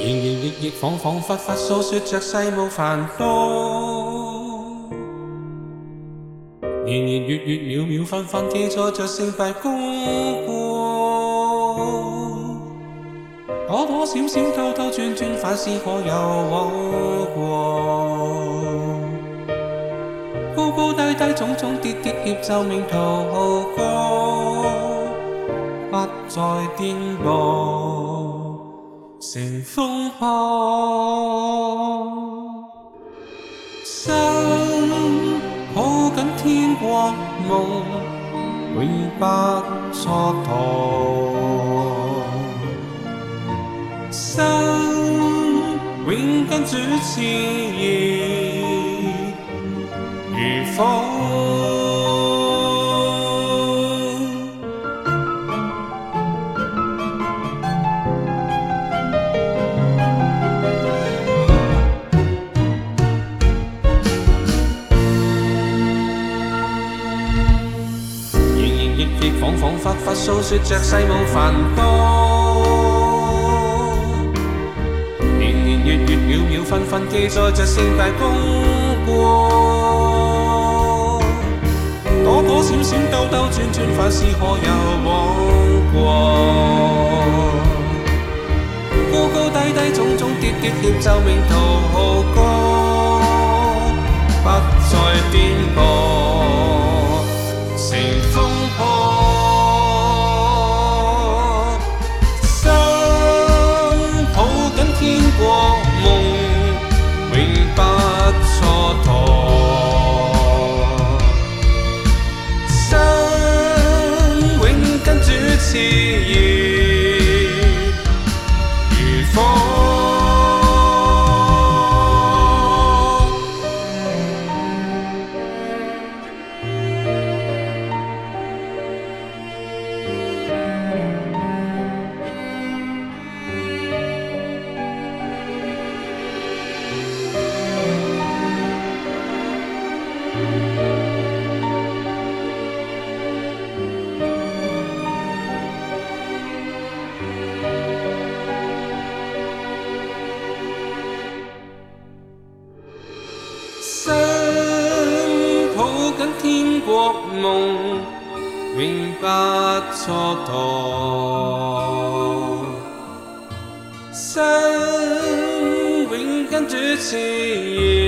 亦恍恍惚惚訴說着世無煩惱，月秒秒分分記載着成敗功過，多多少少兜兜轉轉，反思過又往過，高高低低種種跌跌協奏命途過，不再顛簸成風波。心抱緊天國夢，永不蹉跎。心永跟主熾熱如火。亦恍恍惚惚訴說着世無煩惱，年月秒分分記載着成敗功過，多多少少兜兜轉轉，反思可有往過，高高低低種種跌跌協奏命途過，不再顛簸成風波。國夢永不蹉跎，心永跟主熾熱如火。心抱緊天國夢，永不蹉跎。心永跟主熾熱。